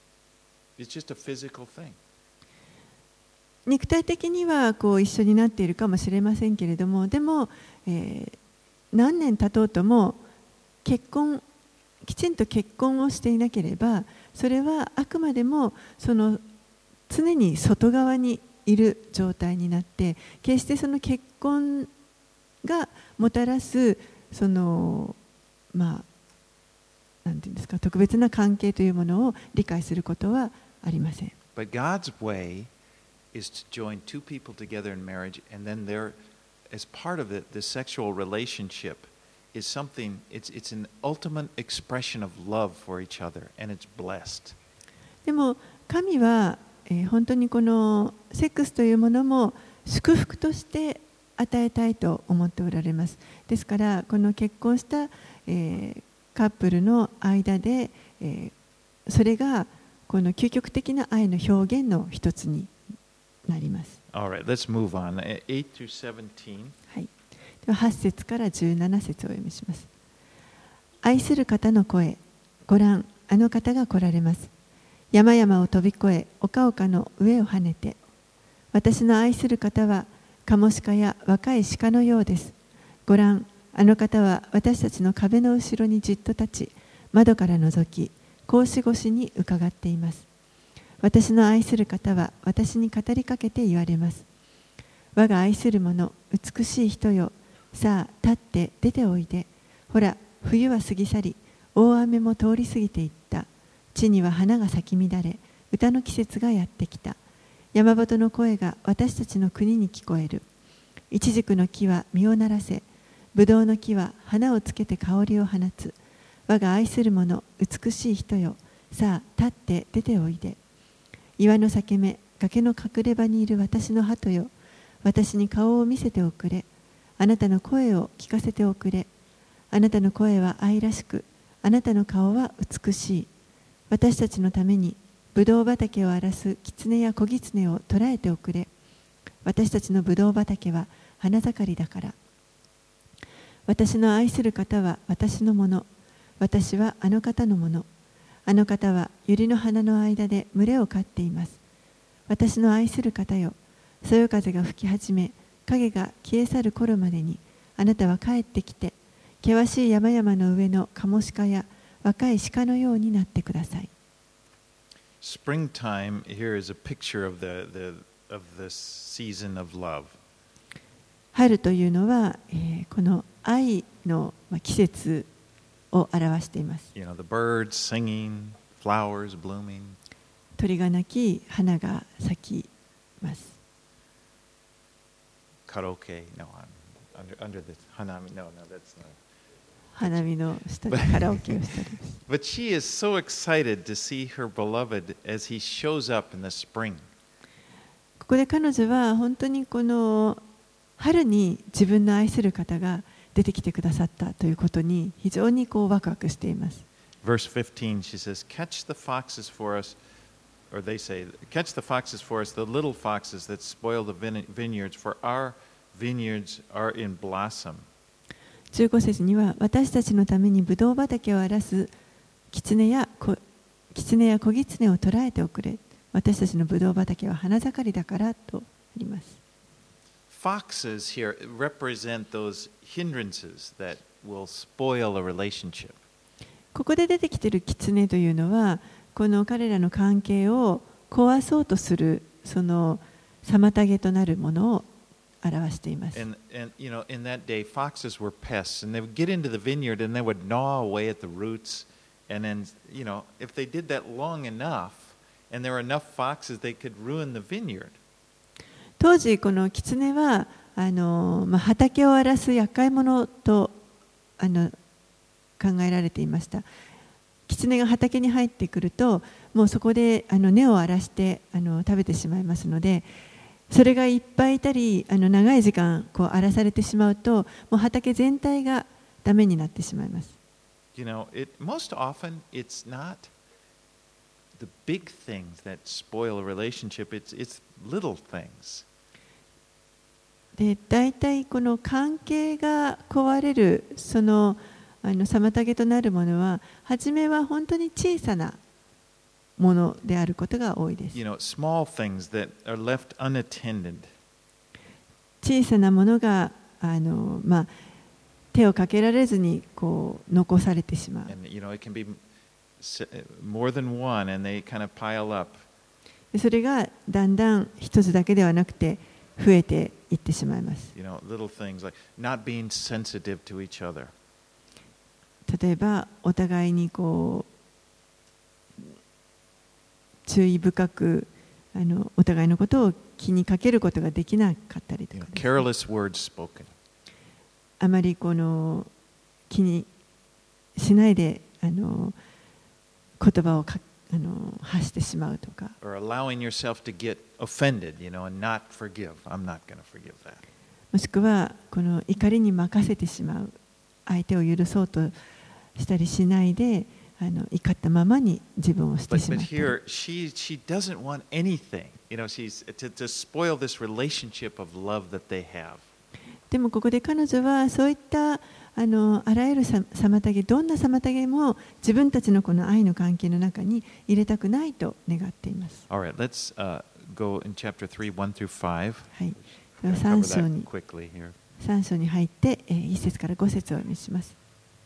it's just a physical thing. 肉体的にはこう一緒になっているかもしれませんけれども、でも、えー、何年経とうとも結婚きちんと結婚をしていなければ、それはあくまでもその常に外側にいる状態になって、決してその結婚がもたらすそのまあなんていうんですか、特別な関係というものを理解することはありません。 But God's way is to join two people together in marriage, and then there, as part of it, the sexual relationship is something, it's, it's an ultimate expression of love for each other, and it's blessed. でも神は、えー、本当にこのセックスというものも祝福として与えたいと思っておられます。ですからこの結婚した、えー、カップルの間で、えー、それがこの究極的な愛の表現の一つになります。 All right, let's move on. eight through seventeen. はい。でははち節からじゅうなな節をお読みします。愛する方の声、ご覧、あの方が来られます。山々を飛び越え、丘々の上を跳ねて。私の愛する方は、カモシカや若い鹿のようです。ご覧、あの方は私たちの壁の後ろにじっと立ち、窓から覗き、格子越しに伺っています。私の愛する方は私に語りかけて言われます。我が愛する者、美しい人よ、さあ立って出ておいで。ほら、冬は過ぎ去り、大雨も通り過ぎていった。 地には花が咲き乱れ、歌の季節がやってきた。山鳩の声が私たちの国に聞こえる。イチジクの木は実をならせ、ブドウの木は花をつけて香りを放つ。我が愛する者、美しい人よ、さあ立って出ておいで。岩の裂け目、崖の隠れ場にいる私の鳩よ、私に顔を見せておくれ。あなたの声を聞かせておくれ。あなたの声は愛らしく、あなたの顔は美しい。私たちのためにブドウ畑を荒らす狐や小狐を捕らえておくれ。私たちのブドウ畑は花盛りだから。私の愛する方は私のもの。私はあの方のもの。あの方は百合の花の間で群れを飼っています。私の愛する方よ、そよ風が吹き始め、影が消え去る頃までに、あなたは帰ってきて、険しい山々の上のカモシカや若い鹿のようになってください。 Springtime here is a picture of the, the, of the season of love. 春というのは、えー、この愛の季節を表しています。 You know, the birds singing, flowers blooming. 鳥が鳴き、花が咲きます。 Karaoke, no, under, under the hanami, no, no, that's not. 花見の下でカラオケをしたりです。 But she is so excited to see her beloved as he shows up in the spring. ここで彼女は本当にこの春に自分の愛する方が出てきてくださったということに非常にこうワクワクしています。 Verse fifteen, she says, "Catch the foxes for us," or they say, "Catch the foxes for us, the little foxes that spoil the vineyards, for our vineyards are in blossom." じゅうご節には、私たちのためにブドウ畑を荒らす狐や小狐や小狐を捕らえておくれ。私たちのブドウ畑は花盛りだからとあります。 Foxes here represent those hindrances that will spoil a relationship. ここで出てきている狐というのは、この彼らの関係を壊そうとするその妨げとなるものを表しています。 And, and you know, in that day, foxes were pests, and they would get into the vineyard and they would gnaw away at the roots. And then, you know, if they did that long enough, and there were enough foxes, they could ruin the vineyard. 当時この狐はあの、まあ、畑を荒らす厄介者とあの考えられていました。狐が畑に入ってくると、もうそこであの根を荒らしてあの食べてしまいますので、それがいっぱいいたり、あの長い時間こう荒らされてしまうと、もう畑全体がダメになってしまいます。 You know, it, most often it's not the big things that spoil a relationship, it's, it's little things. で、大体この関係が壊れるそのあの妨げとなるものは、初めは本当に小さなものであることが多いです。 You know, small things that are left unattended. 小さなものがあの、まあ、手をかけられずにこう残されてしまう。 And, you know, it can be more than one, and they kind of pile up. それがだんだん一つだけではなくて増えていってしまいます。 You know, little things like not being sensitive to each other. 例えばお互いにこう注意深くあのお互いのことを気にかけることができなかったりとかですね。 Careless words spoken. あまりこの気にしないであの言葉をかあの発してしまうとか。 Or allowing yourself to get offended, you know, and not forgive. I'm not going to forgive that. もしくはこの怒りに任せてしまう、相手を許そうとしたりしないで、あの怒ったままに自分をしてしまった。 But, but here, she she doesn't want anything, you know, she's to to spoil this relationship of love that they have. でもここで彼女はそういったあのあらゆる妨げ、どんな妨げも自分たちのこの愛の関係の中に入れたくないと願っています。 All right, let's uh, go in chapter three, one through five. はい。では三章に quickly here. 三章に入って、えー、一節から五節をお読みします。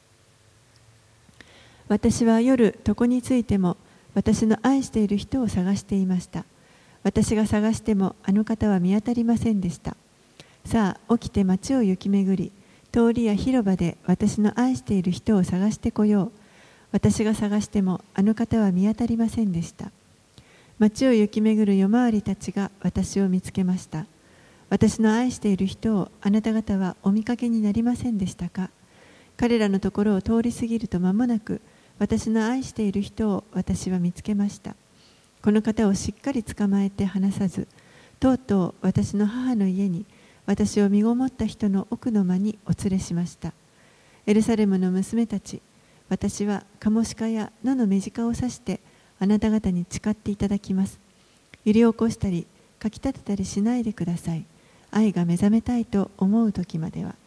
私は夜床についても私の愛している人を探していました。私が探してもあの方は見当たりませんでした。さあ起きて街を行き巡り、通りや広場で私の愛している人を探してこよう。 私が探してもあの方は見当たりませんでした。町を行き巡る夜回りたちが私を見つけました。私の愛している人をあなた方はお見かけになりませんでしたか。彼らのところを通り過ぎると間もなく、私の愛している人を私は見つけました。この方をしっかり捕まえて離さず、とうとう私の母の家に私を身ごもった人の奥の間にお連れしました。エルサレムの娘たち、私はカモシカや野の目近を指してあなた方に誓っていただきます。揺り起こしたり、かき立てたりしないでください。愛が目覚めたいと思う時までは。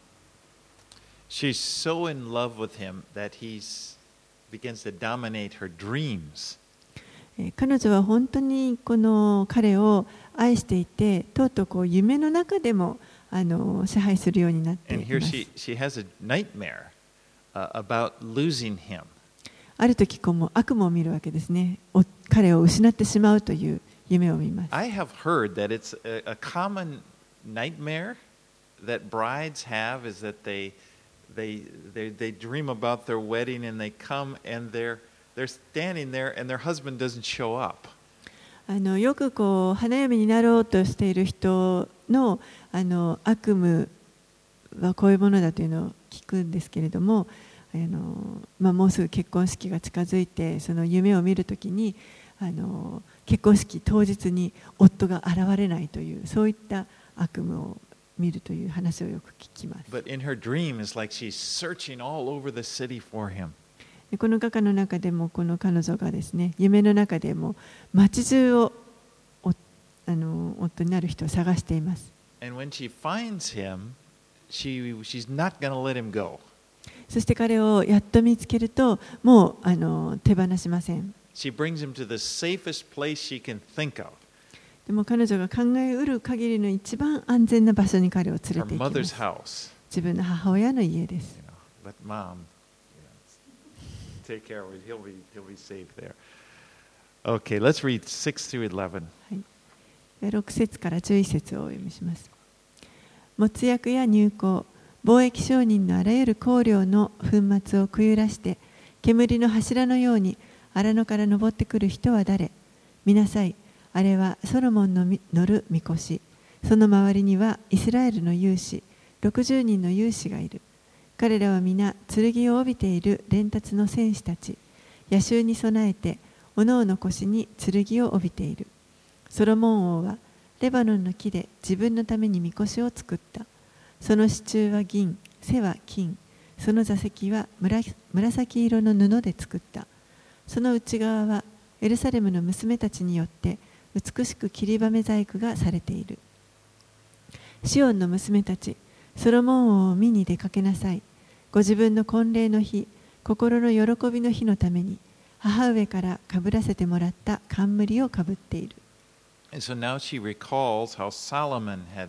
She's so in love with him that he begins to dominate her dreams. 彼女は本当にこの彼を愛していて、とうとうこう夢の中でもあの支配するようになっています。 And here she, she has a nightmare, uh, about losing him. ある時こうも悪夢を見るわけですね。彼を失ってしまうという夢を見ます。 I have heard that it's a, a common nightmare that brides have is that they, they, they, they dream about their wedding and they come and they're, they're standing there and their husband doesn't show up. あのよくこう花嫁になろうとしている人の、あの悪夢はこういうものだというのを聞くんですけれども、あのまあ、もうすぐ結婚式が近づいてその夢を見るときにあの結婚式当日に夫が現れないというそういった悪夢を見るという話をよく聞きます。 But in her dream is like she's searching all over the city for him. この画家の中でもこの彼女がですね、夢の中でも街中をおあの夫になる人を探しています。 And when she finds him, she, she's not going to let him go. そして彼をやっと見つけると、もうあの手放しません。 She brings him to the safest place she can think of. でも彼女が考えうる限りの一番安全な場所に彼を連れて行 Her きま mother's す。 house. 自分の母親の家です。 You know, let mom, you know, take care of him. He'll be, he'll be safe there. Okay, let's read six through eleven. ろく節からじゅういち節をお読みします。没薬や乳香、貿易商人のあらゆる香料の粉末をくゆらして、煙の柱のように荒野から登ってくる人は誰？見なさい。あれはソロモンの乗る御輿。その周りにはイスラエルの勇士、ろくじゅうにんの勇士がいる。彼らは皆剣を帯びている連達の戦士たち。野襲に備えて、おのおの腰に剣を帯びている。ソロモン王はレバノンの木で自分のために御輿を作った。その支柱は銀、背は金、その座席は紫色の布で作った。その内側はエルサレムの娘たちによって美しく切りばめ細工がされている。シオンの娘たち、ソロモン王を見に出かけなさい。ご自分の婚礼の日、心の喜びの日のために、母上からかぶらせてもらった冠をかぶっている。 And so now she recalls how Solomon had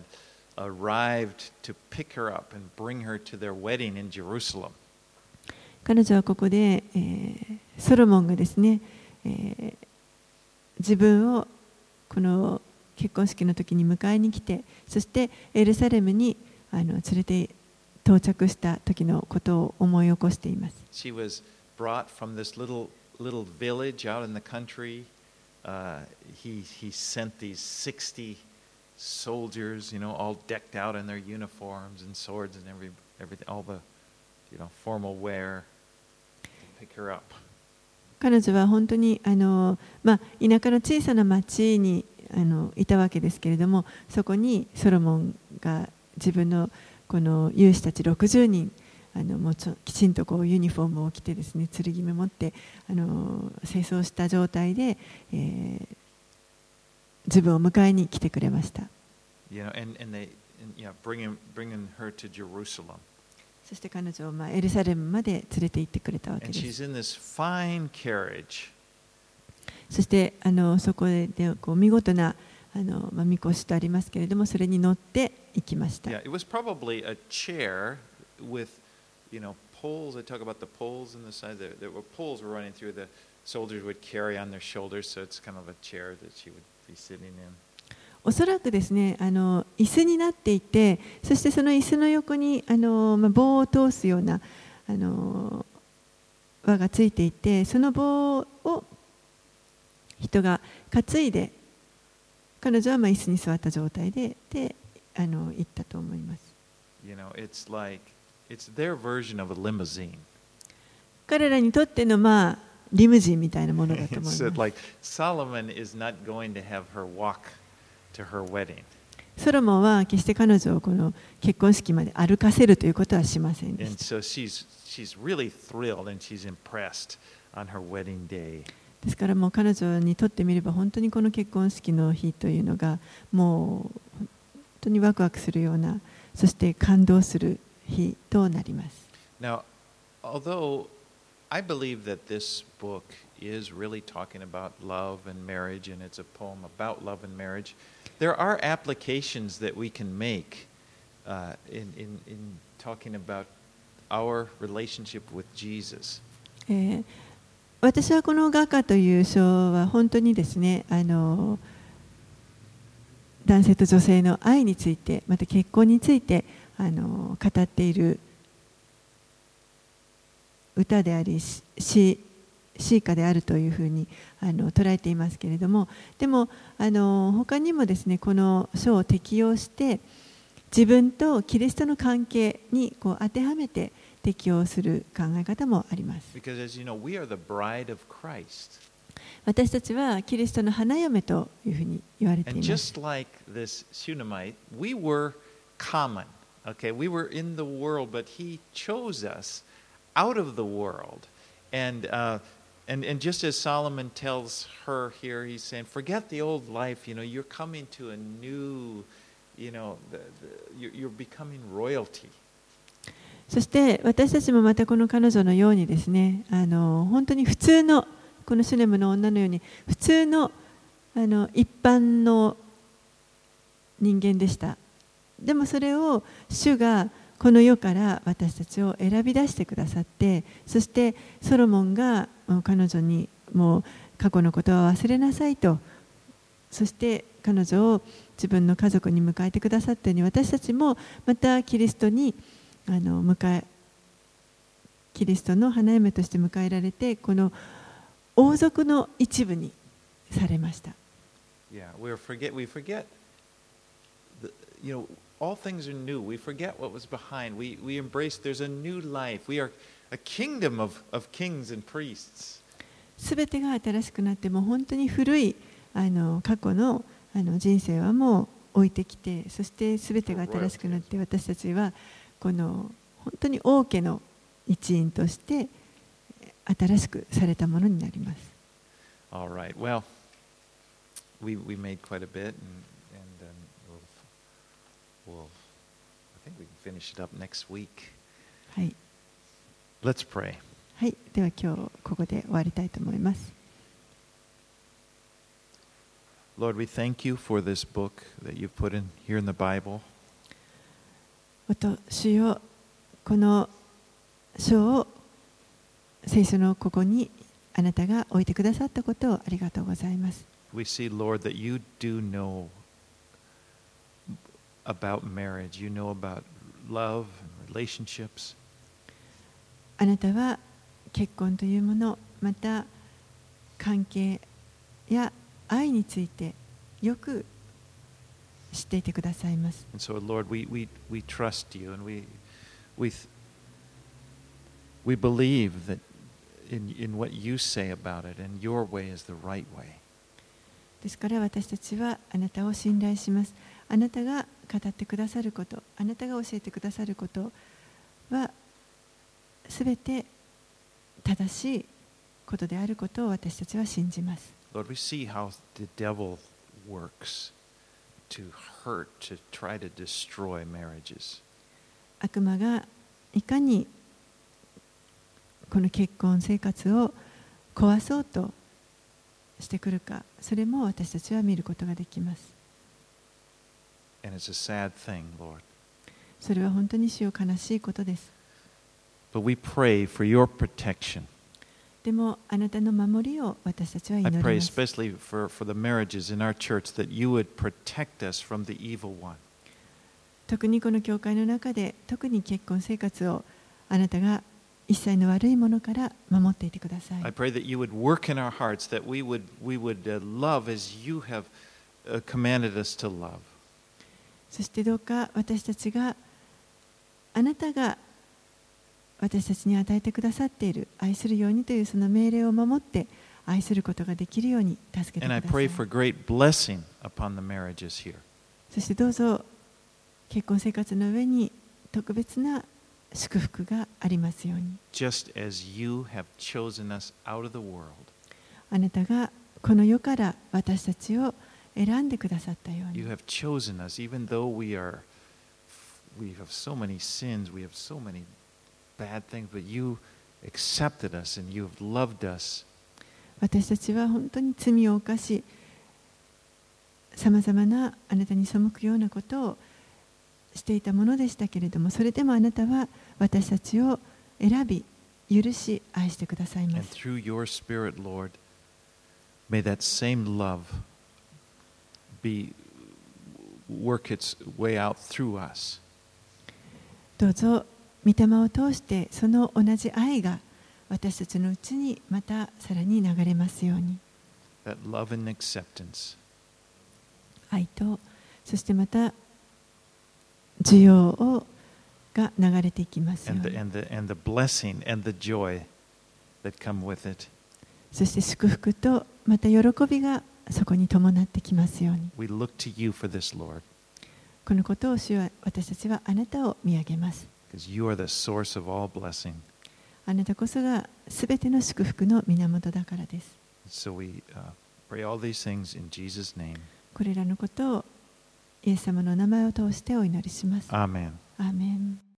arrived to pick her up and bring her to their wedding in Jerusalem. 彼女はここで、えー、ソロモンがですね、えー、自分をこの結婚式の時に迎えに来て、そしてエルサレムにあの連れて到着した時のことを思い起こしています。 She was brought from this little little village out in the country. Uh, he he sent these sixty soldiers, you know, all decked out in their uniforms and swords and every everything, all the you know formal wear to pick her up. 彼女は本当にあの、まあ、田舎の小さな町にあのいたわけですけれども、そこにソロモンが自分のこの勇士たちろくじゅうにんあのもうちょきちんとこうユニフォームを着てですね、剣目持ってあの清掃した状態で、えー、自分を迎えに来てくれました。 You know, and and they, and, yeah, bringing bringing her to Jerusalem. そして彼女をまあエルサレムまで連れて行ってくれたわけ And で she's す。 in this fine carriage. そしてあのそこでこう見事なあのまあみこしとありますけれども、それに乗って行きました。 Yeah, it was probably a chair with, you know, poles. They talk about the poles in the side. There, there were poles were running through. The soldiers would carry on their shoulders, so it's kind of a chair that she would be sitting in. おそらくですね、あの椅子になっていて、そしてその椅子の横にあの、まあ、棒を通すようなあの輪がついていて、その棒を人が担いで、彼女はまあ椅子に座った状態で、であの行ったと思います。 You know, it's like it's their version of a limousine. 彼らにとってのまあリムジンみたいなものだと思います。 It's like Solomon is not going to have her walk to her wedding. ソロモンは決して彼女をこの結婚式まで歩かせるということはしませんで And した。 so she's she's really thrilled and she's impressed on her wedding day. ですからもう彼女にとってみれば本当にこの結婚式の日というのがもう本当にワクワクするような、そして感動する日となります。 Now, although I believe that this book is really talking about love and marriage, and it's a poem about love and marriage, there are applications that we can make uh, in, in, in talking about our relationship with Jesus. えー私はこの画家という書は本当にですね、あの男性と女性の愛について、また結婚についてあの語っている歌であり、詩詩歌であるというふうにあの捉えていますけれども、でもあの他にもですね、この書を適用して自分とキリストの関係にこう当てはめて適用する考え方もあります。 Because as you know, we are the bride of Christ. 私たちはキリストの花嫁というふうに言われてい And ます。 just like this Shunammite, we were common. Okay, we were in the world, but he chose us out of the world. And, uh, and, and just as Solomon tells her here, he's saying, forget the old life, you know, you're coming to a new, you know, the, the, you're, you're becoming royalty. そして私たちもまたこの彼女のようにですね、あの本当に普通のこのシュネムの女のように普通の、あの一般の人間でした。でもそれを主がこの世から私たちを選び出してくださって、そしてソロモンが彼女にもう過去のことは忘れなさいと、そして彼女を自分の家族に迎えてくださったように、私たちもまたキリストにあの迎えキリストの花嫁として迎えられて、この王族の一部にされました。 Yeah, we forget, we forget, the, you know, all things are new. We forget what was behind. We, we embrace, there's a new life. We are a kingdom of, of kings and priests. すべてが新しくなって、もう本当に古いあの過去の、あの人生はもう置いてきて、そしてすべてが新しくなって、私たちはこの本当に王家の一員として新しくされたものになります。 All right. Well, we we made quite a bit, and and um, we'll, we'll I think we can finish it up next week. はい。 Let's pray. はい。では今日ここで終わりたいと思います。 Lord, we thank you for this book that you've put in here in the Bible. おと主よ、この書を聖書のここにあなたが置いてくださったことをありがとうございます。 We see, Lord, that you do know about marriage. You know about love and relationships. あなたは結婚というもの、また関係や愛についてよく知っていてくださいます。 And so, Lord, we, we, we trust you, and we, we, we believe that in, in what you say about it, and your way is the right way. ですから私たちはあなたを信頼します。あなたが語ってくださること、あなたが教えてくださることはすべて正しいことであることを私たちは信じます。 Lord, we see how the devil works to hurt, to try to destroy marriages. 悪魔がいかにこの結婚生活を壊そうとしてくるか、それも私たちは見ることができます。 And it's a sad thing, Lord. それは本当に主よ悲しいことです。 But we pray for your protection. でもあなたの守りを私たちは祈 I り pray ます。 especially for, for the marriages in our church that you would protect us from the evil one. 特にこの教会の中で、特に結婚生活をあなたが一切の悪いものから守っていてください。 I pray that you would work in our hearts, that we would, we would uh, love as you have uh, commanded us to love. そしてどうか私たちがあなたが私たちに与えてくださっている愛するようにというその命令を守って愛することができるように助けてく And I ださ pray い。 for great blessing upon the marriages here. そしてどうぞ結婚生活の上に特別な祝福がありますように。 Just as you have chosen us out of the world. あなたがこの世から私たちを選んでくださったように。 You have chosen us, even though we are, we have so many sins, we have so many bad things, but you accepted us and you have loved us. 私たちは本当に罪を犯し、さまざまなあなたに背くようなことをしていたものでしたけれども、それでもあなたは私たちを選び、許し、愛してくださいま And す。 through your Spirit, Lord, may that same love be work its way out through us. どうぞ御霊を通してその同じ愛が私たちのうちにまたさらに流れますように。 That love and acceptance. 愛とそしてまた需要をが流れていきますよう And に。 the, and, the, and the blessing and the joy that come with it. そして祝福とまた喜びがそこに伴ってきますように。 We look to you for this, Lord, このことを主は私たちはあなたを見上げます。 because you are the source of all blessing. あなたこそがすべての祝福の源だからです。 So we uh, pray all these things in Jesus' name. これらのことをイエス様の名前を通してお祈りします。 Amen. アーメン。